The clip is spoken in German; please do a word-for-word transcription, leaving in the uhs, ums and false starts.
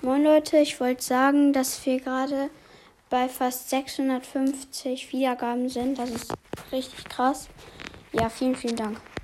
Moin Leute, ich wollte sagen, dass wir gerade bei fast sechshundertfünfzig Wiedergaben sind. Das ist richtig krass. Ja, vielen, vielen Dank.